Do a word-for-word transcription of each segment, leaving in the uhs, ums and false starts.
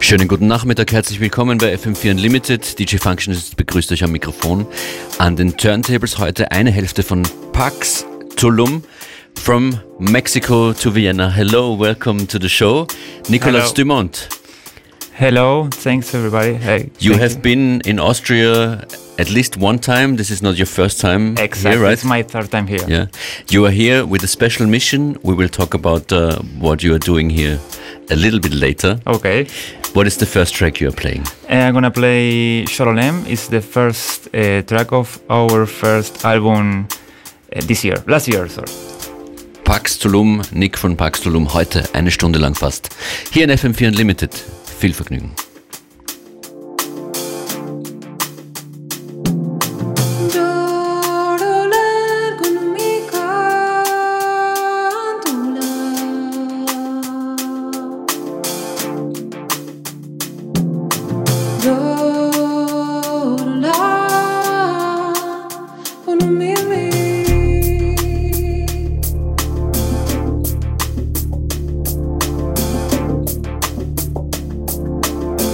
Schönen guten Nachmittag, herzlich willkommen bei F M vier Unlimited. D J Functionist begrüßt euch am Mikrofon. An den Turntables heute eine Hälfte von Pax Tulum, from Mexico to Vienna. Hello, welcome to the show. Nicolas Hello. Dumont. Hello, thanks everybody. Hey, You thank have been in Austria at least one time. This is not your first time Exactly, here, right? it's my third time here. Yeah, you are here with a special mission. We will talk about uh, what you are doing here a little bit later. Okay, What is the first track you are playing? I'm gonna play Shololem. It's the first uh, track of our first album uh, this year, last year, sorry. Pax Tulum, Nick von Pax Tulum, heute eine Stunde lang fast. Hier in F M vier Unlimited. Viel Vergnügen. Thank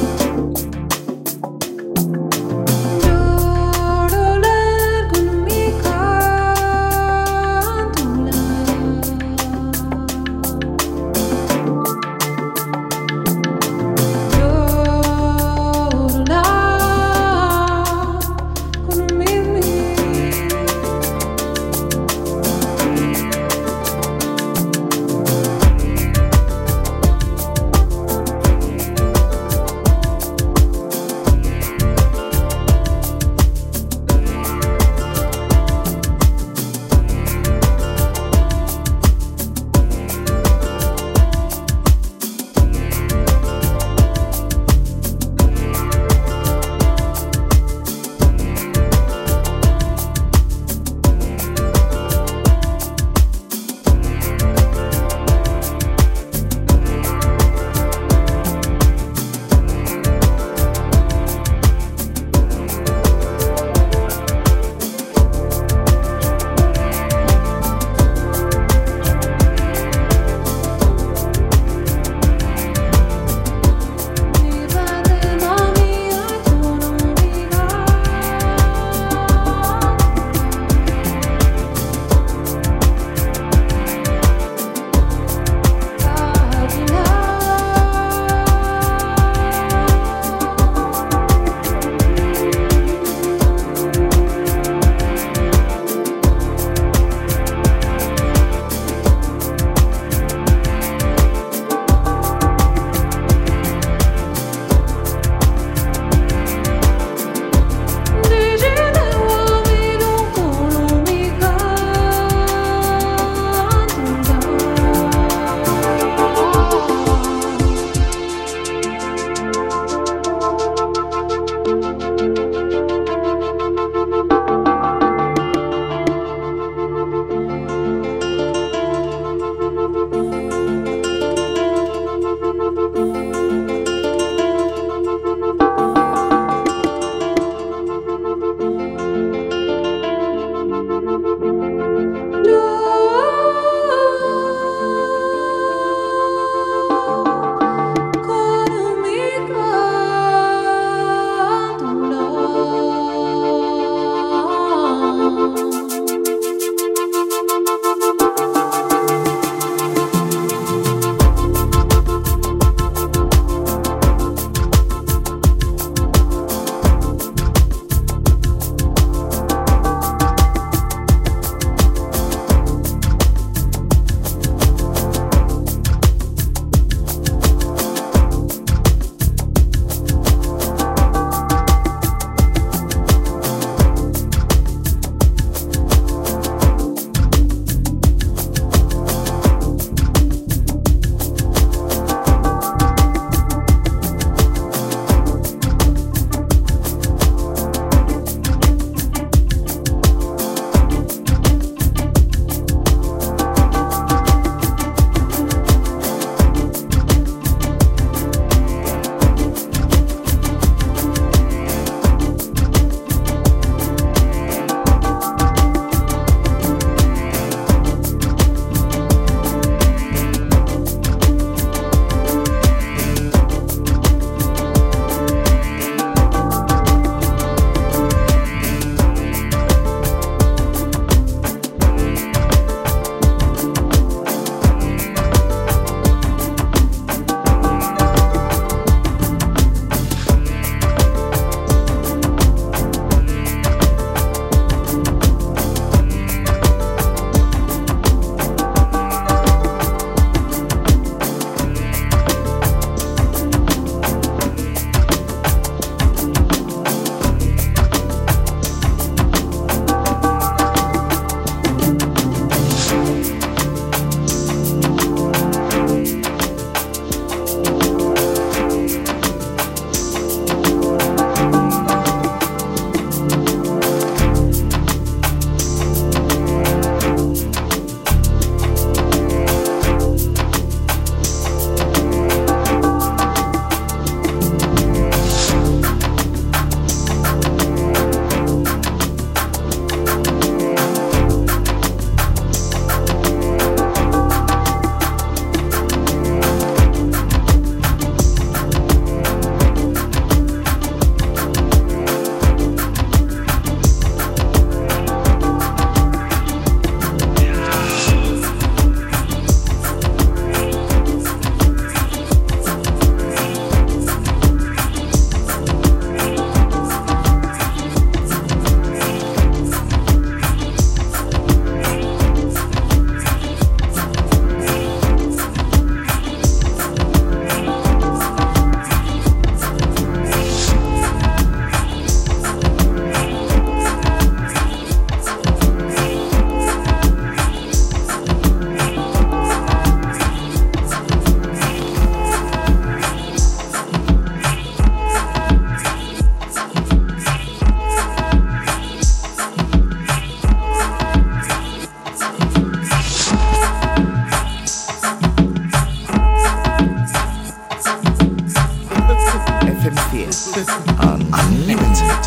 Unlimited.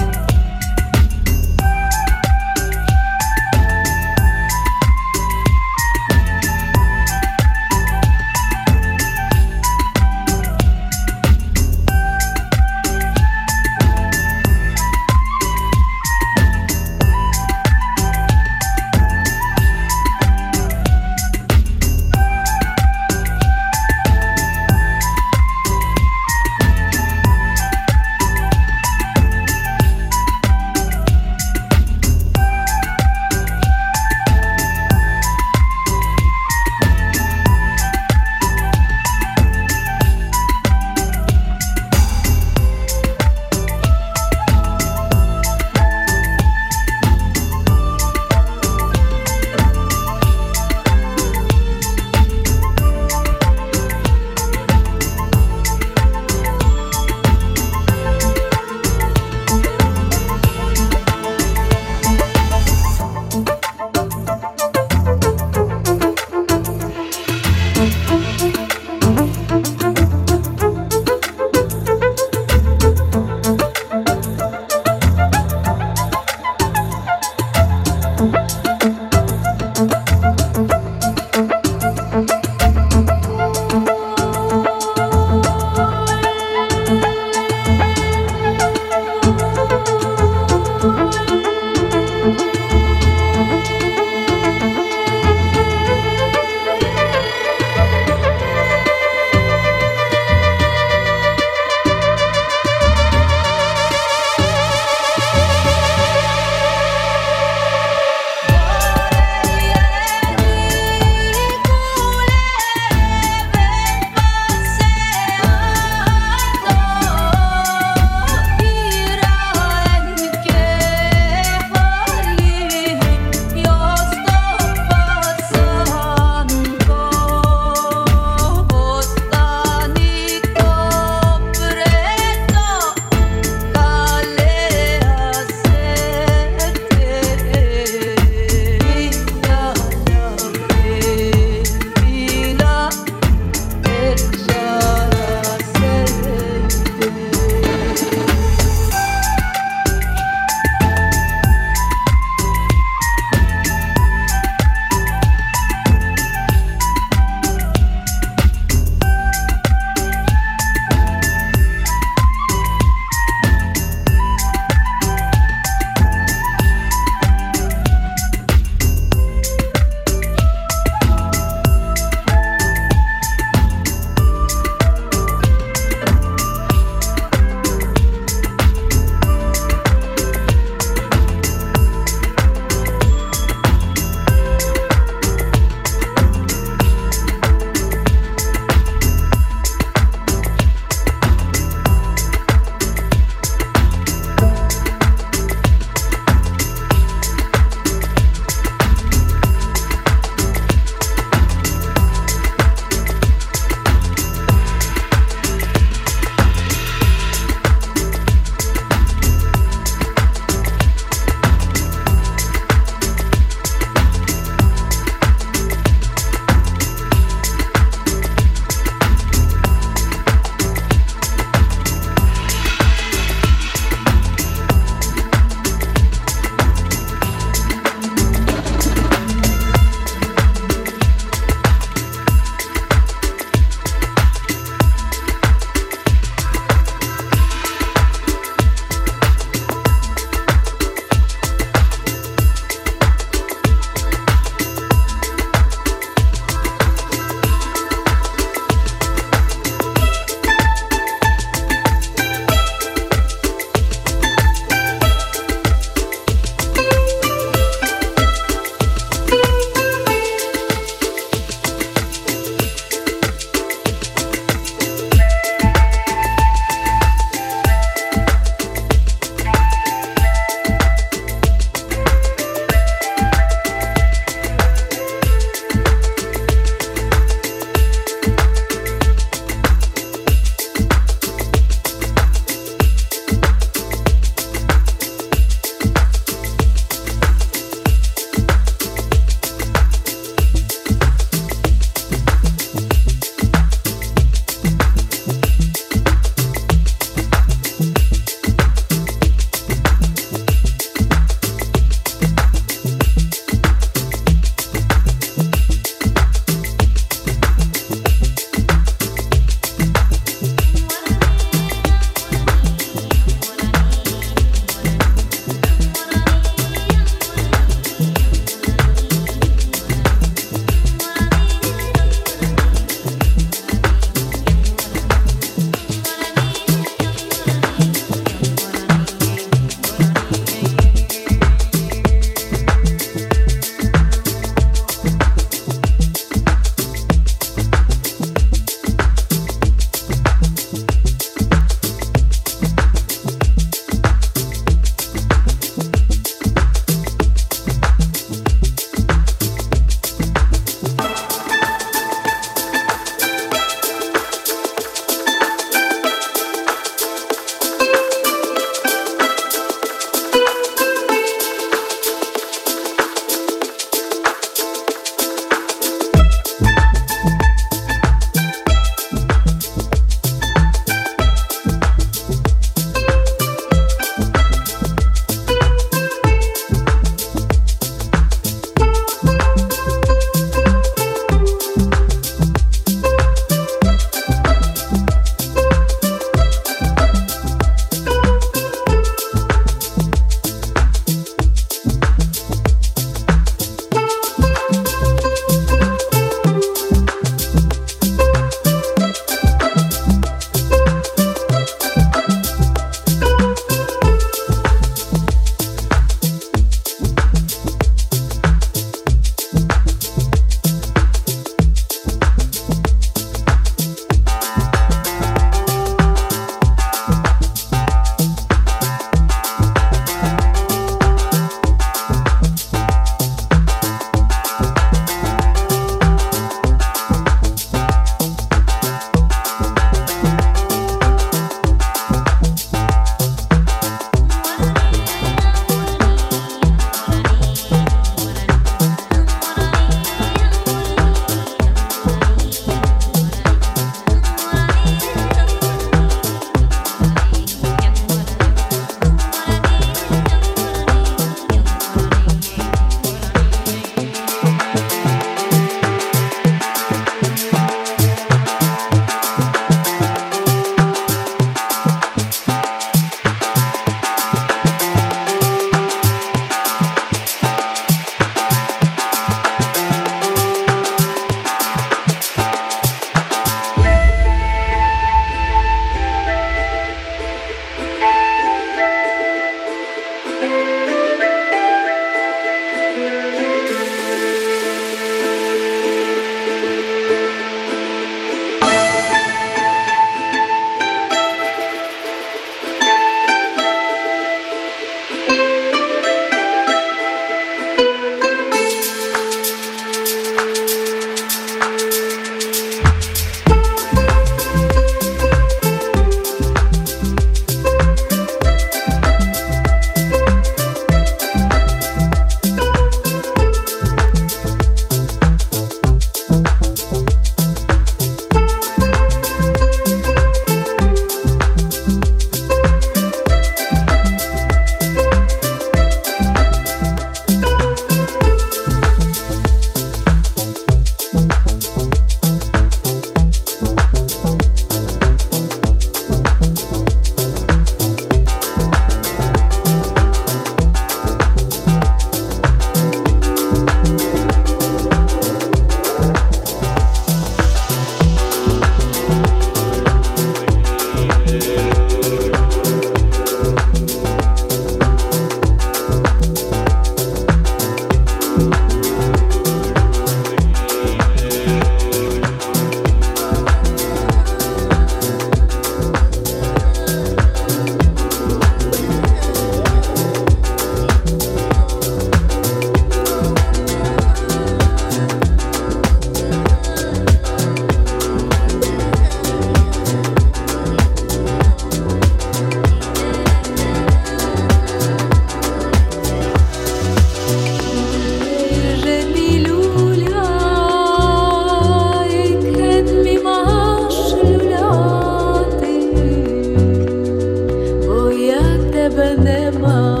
тебе нема.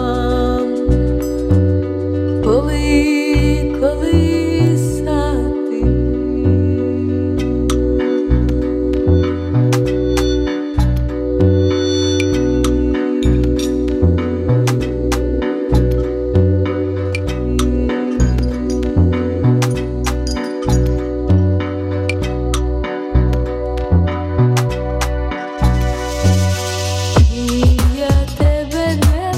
Коли, коли сати. І я тебе не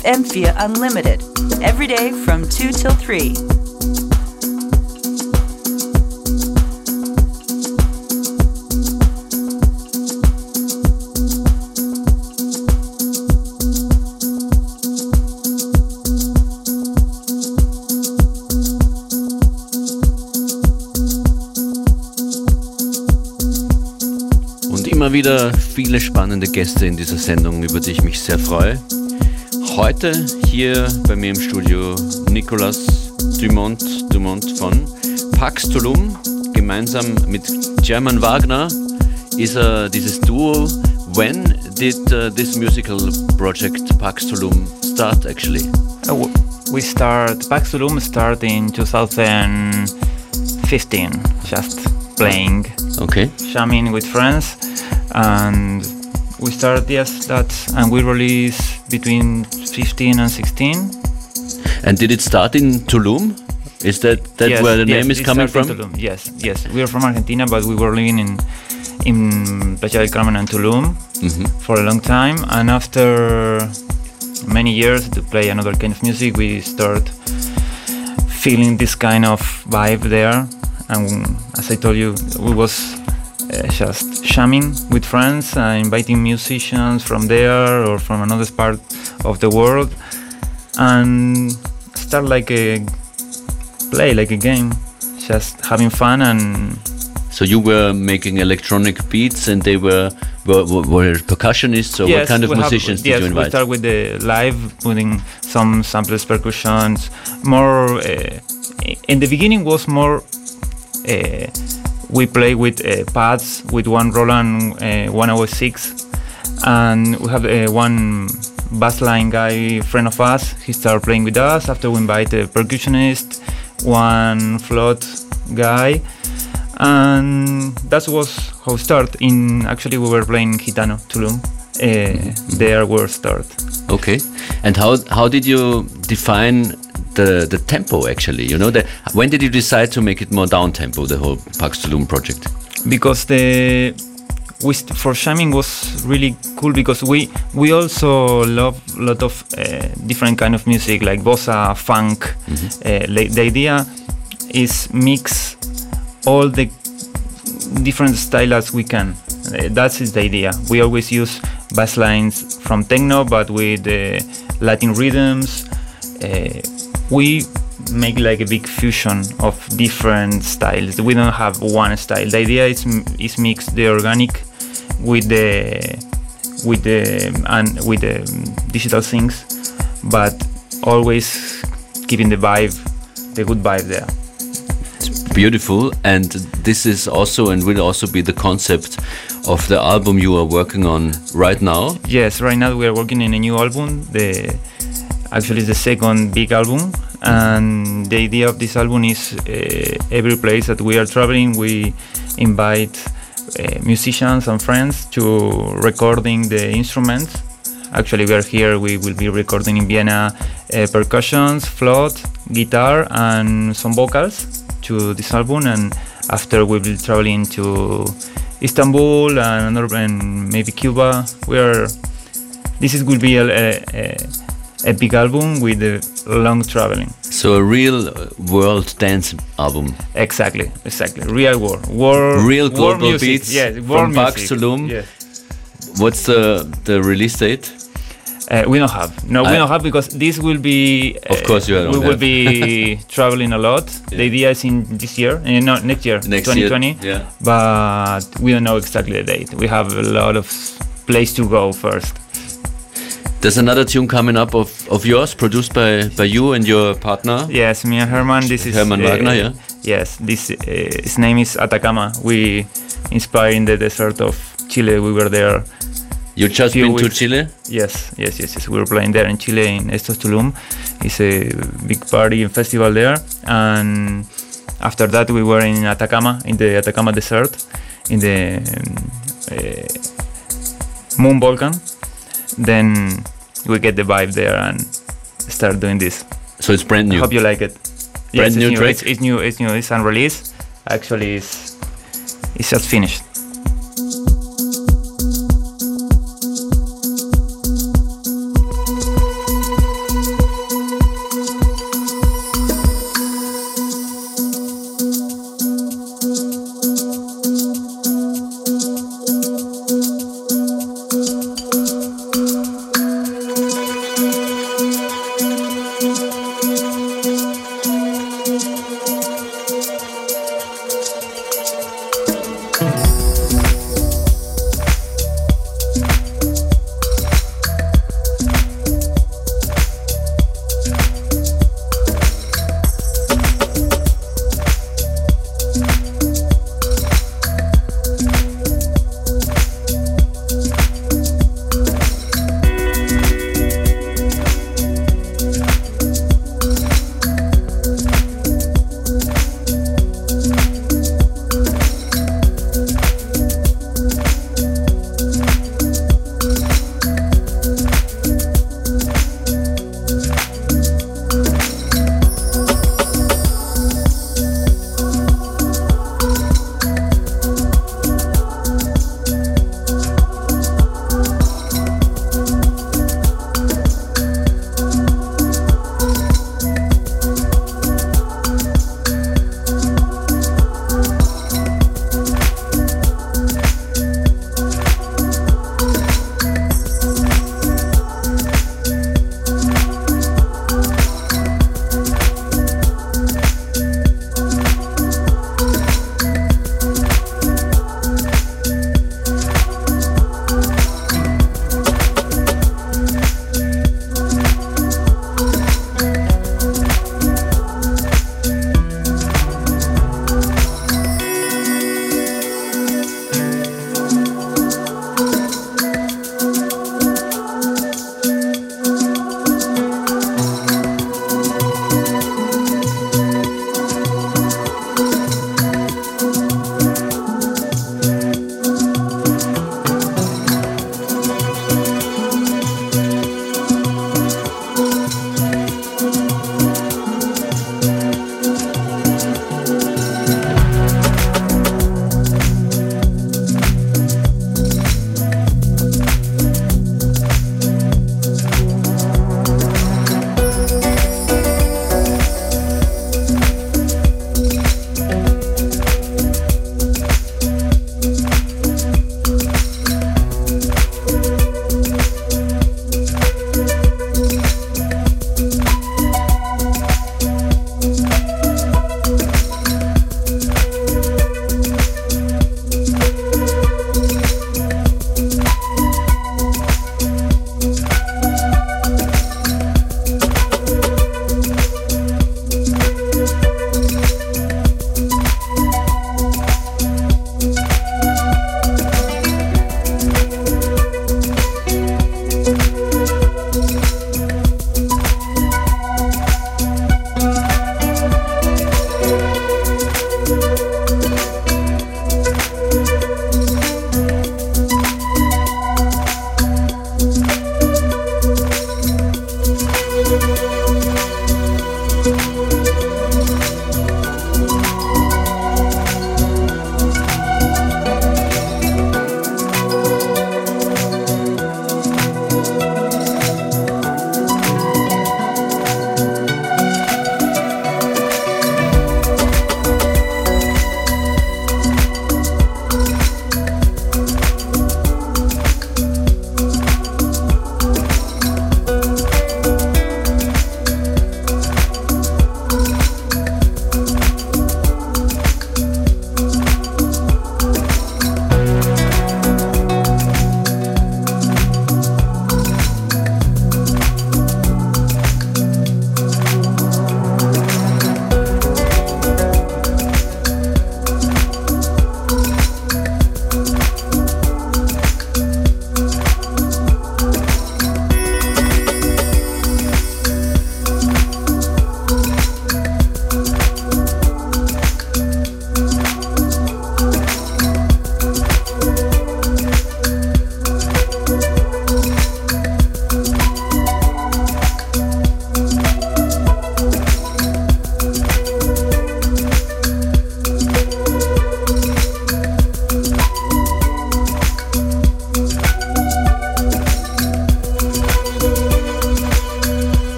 F M vier Unlimited, every day from two till three. Immer wieder viele spannende Gäste in dieser Sendung, über die ich mich sehr freue. Heute hier bei mir im Studio Nicolas Dumont, Dumont von Pax Tulum. Gemeinsam mit German Wagner ist er dieses Duo. When did uh, this musical project Pax Tulum start actually? Uh, we start, Pax Tulum start in two thousand fifteen, just playing, okay, jamming with friends. And we started, yes, that, and we released between fifteen and sixteen. And did it start in Tulum? Is that, that yes, where the yes, name is it coming from? In Tulum. Yes, yes. We are from Argentina, but we were living in in Playa del Carmen and Tulum mm-hmm. for a long time. And after many years to play another kind of music, we start feeling this kind of vibe there. And as I told you, we was Uh, just jamming with friends, uh, inviting musicians from there or from another part of the world, and start like a play, like a game, just having fun. And so you were making electronic beats, and they were were, were percussionists. So yes, what kind of musicians have, did yes, you invite? We start with the live, putting some samples, percussions. More uh, in the beginning was more. Uh, We play with uh, pads, with one Roland uh, one oh six, and we have uh, one bassline guy, friend of us. He started playing with us. After we invite a percussionist, one float guy, and that was how it started. In actually, we were playing Gitano Tulum. Uh, mm-hmm. There we start. Okay, and how how did you define the the tempo actually? You know, the, when did you decide to make it more down tempo, the whole Pax Tulum project? Because the we st- for jamming was really cool, because we we also love a lot of uh, different kind of music like bossa, funk. Mm-hmm. Uh, like the idea is mix all the different styles as we can. Uh, that is the idea. We always use bass lines from techno, but with uh, Latin rhythms. Uh, we make like a big fusion of different styles. We don't have one style. The idea is is mix the organic with the with the and with the digital things, but always keeping the vibe, the good vibe there. It's beautiful, and this is also and will also be the concept of the album you are working on right now. Yes, right now we are working in a new album. The actually the second big album, and the idea of this album is uh, every place that we are traveling, we invite uh, musicians and friends to recording the instruments. Actually, we are here, we will be recording in Vienna uh, percussions, flute, guitar, and some vocals to this album. And after we will be traveling to Istanbul and, another, and maybe Cuba. We are. This is will be a, a, a big album with a long traveling. So a real world dance album. Exactly, exactly. Real world, world, real global world beats. Yes, from music. Pax Tulum. Yes. What's the the release date? Uh, we don't have. No, I we don't have, because this will be. Uh, of course, you don't We have. will be traveling a lot. Yeah. The idea is in this year, uh, no, next year, next twenty twenty. Year, yeah. But we don't know exactly the date. We have a lot of place to go first. There's another tune coming up of, of yours, produced by, by you and your partner. Yes, me and Herman. This is Herman uh, Wagner. Yeah. Yes, this uh, his name is Atacama. We inspired in the desert of Chile. We were there. You just been weeks. to Chile? Yes, yes, yes, yes. We were playing there in Chile, in Estos Tulum. It's a big party and festival there. And after that, we were in Atacama, in the Atacama Desert, in the um, uh, Moon Volcan. Then we get the vibe there and start doing this. So it's brand new. I hope you like it. Brand yes, new it's track. It's, it's new. It's new. It's unreleased. Actually, it's it's just finished.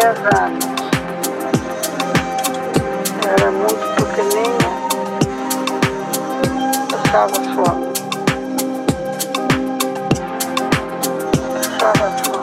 dez anos. Eu era muito pequenina, passava fome. Passava fome.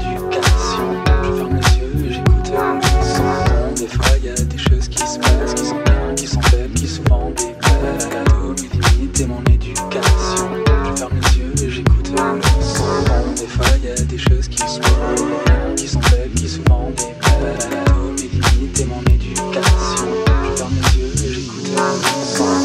éducation. Je ferme les yeux et j'écoute le son. Des fois y a des choses qui se passent, qui sont bien, qui sont belles, qui souvent déplaisent. La cadeau, mes limites et mon éducation. Je ferme les yeux et j'écoute le son. Des fois y a des choses qui se passent, qui sont belles, qui souvent déplaisent. La cadeau, mes limites et mon éducation. Je ferme les yeux et j'écoute le son.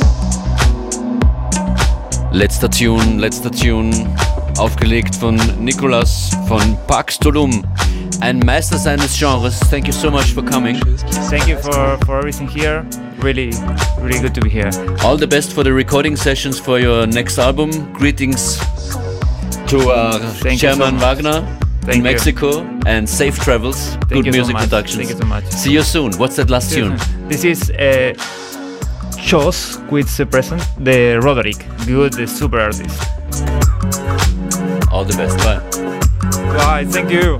Letzter Tune, letzter Tune, aufgelegt von Nicolas von Pax Tulum, ein Meister seines Genres. Thank you so much for coming. Thank you for, for everything here. Really, really good to be here. All the best for the recording sessions for your next album. Greetings to uh, Thank you so Chairman much. Wagner Thank in you. Mexico, and safe travels. Thank Good you so music much. productions. Thank you so much. See you soon. What's that last tune? This is uh, Chos with the present, the Roderick, good, the super artist. All the best. Bye. Bye, thank you.